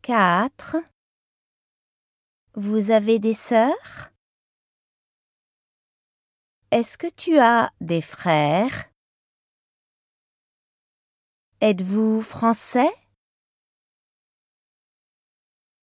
4. Vous avez des sœurs? Est-ce que tu as des frères? Êtes-vous français?